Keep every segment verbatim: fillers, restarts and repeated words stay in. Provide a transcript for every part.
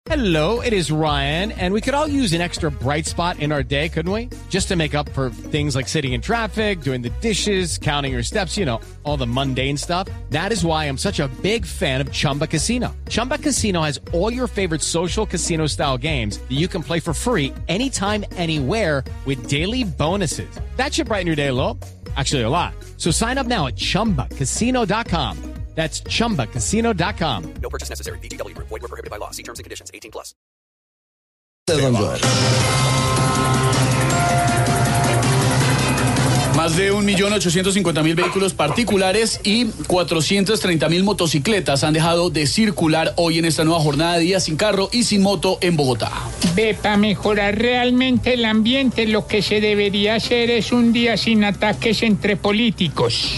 Hello, it is Ryan, and we could all use an extra bright spot in our day, couldn't we? Just to make up for things like sitting in traffic, doing the dishes, counting your steps, you know, all the mundane stuff. That is why I'm such a big fan of Chumba Casino. Chumba Casino has all your favorite social casino-style games that you can play for free anytime, anywhere with daily bonuses. That should brighten your day a little. Actually, a lot. So sign up now at chumba casino dot com. That's chumba casino dot com. No purchase necessary. V G W Group. Void where prohibited by law. See terms and conditions. eighteen plus. Más de un millón ochocientos cincuenta mil vehículos particulares y cuatrocientas treinta mil motocicletas han dejado de circular hoy en esta nueva jornada de día sin carro y sin moto en Bogotá. Ve, para mejorar realmente el ambiente, lo que se debería hacer es un día sin ataques entre políticos.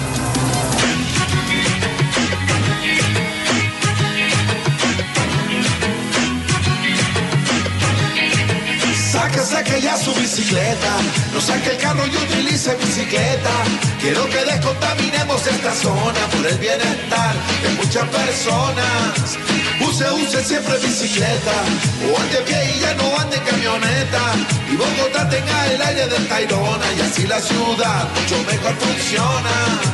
Saque, saque ya su bicicleta, no saque el carro y utilice bicicleta. Quiero que descontaminemos esta zona por el bienestar de muchas personas. Use, use siempre bicicleta, o ande a pie y ya no ande en camioneta. Y Bogotá tenga el aire del Tayrona y así la ciudad mucho mejor funciona.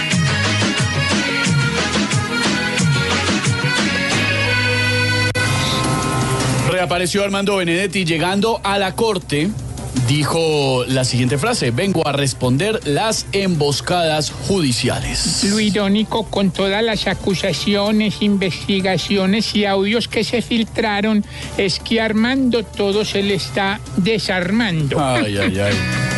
Reapareció Armando Benedetti llegando a la corte. Dijo la siguiente frase: vengo a responder las emboscadas judiciales. Lo irónico, con todas las acusaciones, investigaciones y audios que se filtraron, es que a Armando todo se le está desarmando. Ay, ay, ay.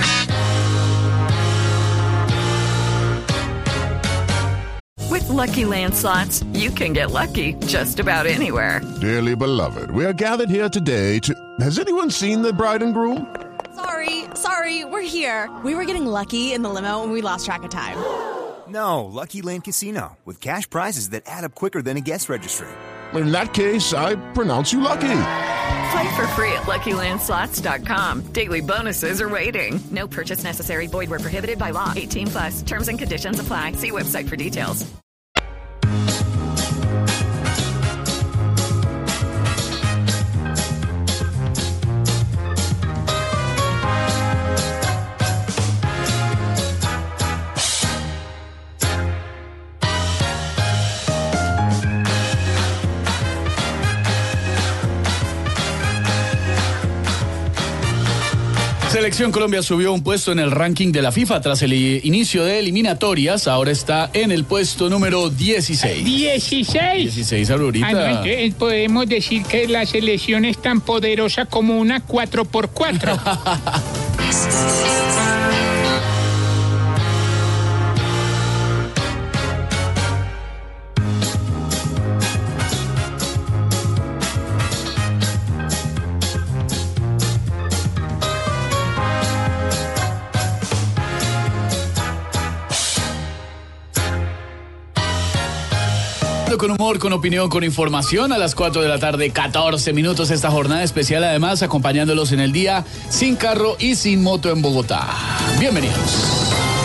With Lucky Land Slots, you can get lucky just about anywhere. Dearly beloved, we are gathered here today to... Has anyone seen the bride and groom? Sorry, sorry, we're here. We were getting lucky in the limo and we lost track of time. No, Lucky Land Casino, with cash prizes that add up quicker than a guest registry. In that case, I pronounce you lucky. Play for free at lucky land slots dot com. Daily bonuses are waiting. No purchase necessary. Void where prohibited by law. eighteen plus. Terms and conditions apply. See website for details. Selección Colombia subió un puesto en el ranking de la FIFA tras el inicio de eliminatorias. Ahora está en el puesto número dieciséis. ¿dieciséis? dieciséis, Aurorita. Ah, no, entonces podemos decir que la selección es tan poderosa como una cuatro por cuatro. Con humor, con opinión, con información a las cuatro de la tarde, catorce minutos esta jornada especial, además acompañándolos en el día sin carro y sin moto en Bogotá. Bienvenidos.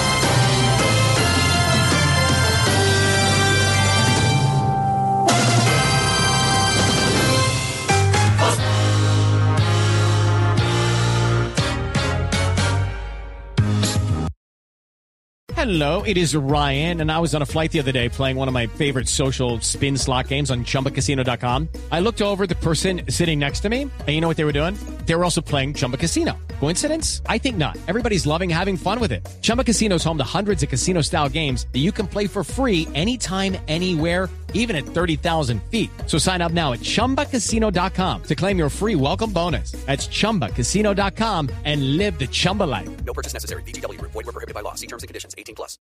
Hello, it is Ryan, and I was on a flight the other day playing one of my favorite social spin slot games on chumba casino dot com. I looked over at the person sitting next to me, and you know what they were doing? They were also playing Chumba Casino. Coincidence? I think not. Everybody's loving having fun with it. Chumba Casino is home to hundreds of casino-style games that you can play for free anytime, anywhere, even at thirty thousand feet. So sign up now at chumba casino dot com to claim your free welcome bonus. That's chumba casino dot com and live the Chumba life. No purchase necessary. V G W Group. Void where prohibited by law. See terms and conditions. eighteen plus.